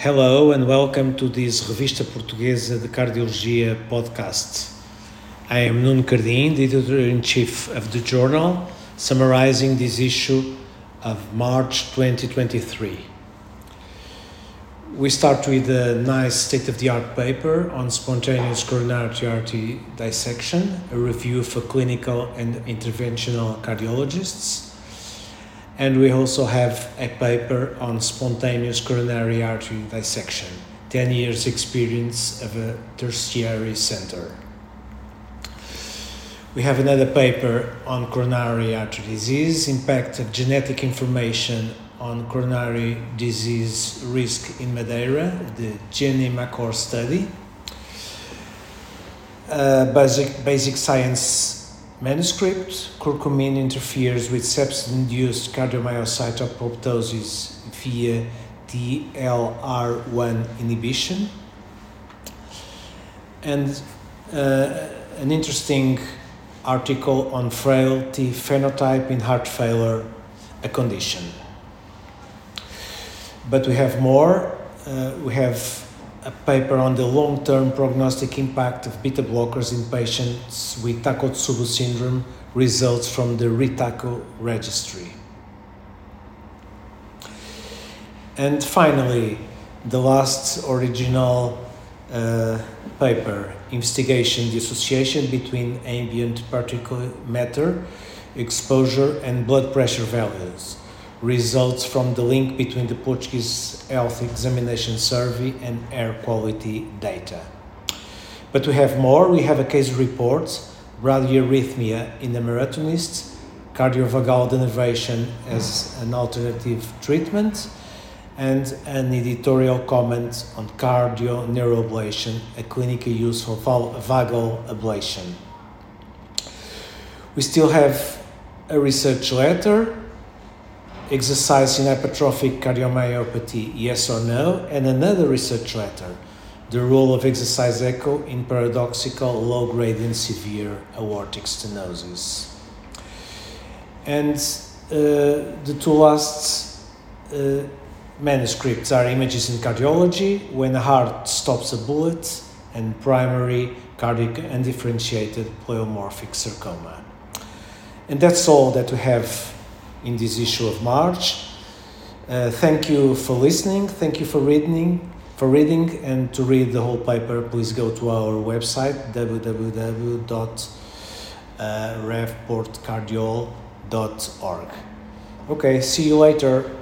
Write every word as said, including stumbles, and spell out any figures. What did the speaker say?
Hello and welcome to this Revista Portuguesa de Cardiologia podcast. I am Nuno Cardim, the editor-in-chief of the journal, summarizing this issue of March twenty twenty-three. We start with a nice state-of-the-art paper on spontaneous coronary artery dissection, a review for clinical and interventional cardiologists. And we also have a paper on spontaneous coronary artery dissection, ten years experience of a tertiary center. We have another paper on coronary artery disease, impact of genetic information on coronary disease risk in Madeira, the GENIMACOR study. Uh, basic, basic science manuscript, curcumin interferes with sepsis-induced cardiomyocyte apoptosis via T L R one inhibition. And uh, an interesting article on frailty phenotype in heart failure, a condition. But we have more. Uh, we have a paper on the long-term prognostic impact of beta blockers in patients with Takotsubo syndrome, results from the RITACO registry. And finally, the last original uh, paper, investigation the association between ambient particulate matter exposure and blood pressure values, results from the link between the Portuguese Health Examination Survey and air quality data. But we have more. We have a case report, bradyarrhythmia in the marathonist, cardiovagal denervation as an alternative treatment, and an editorial comment on cardio-neuroablation, a clinical use for vagal ablation. We still have a research letter, exercise in hypertrophic cardiomyopathy, yes or no, and another research letter, the role of exercise echo in paradoxical low-grade and severe aortic stenosis. And uh, the two last uh, manuscripts are images in cardiology, when a heart stops a bullet, and primary cardiac undifferentiated pleomorphic sarcoma. And that's all that we have in this issue of March. Uh, thank you for listening. Thank you for reading. For reading and to read the whole paper, please go to our website w w w dot rev port cardiol dot org. Okay, see you later.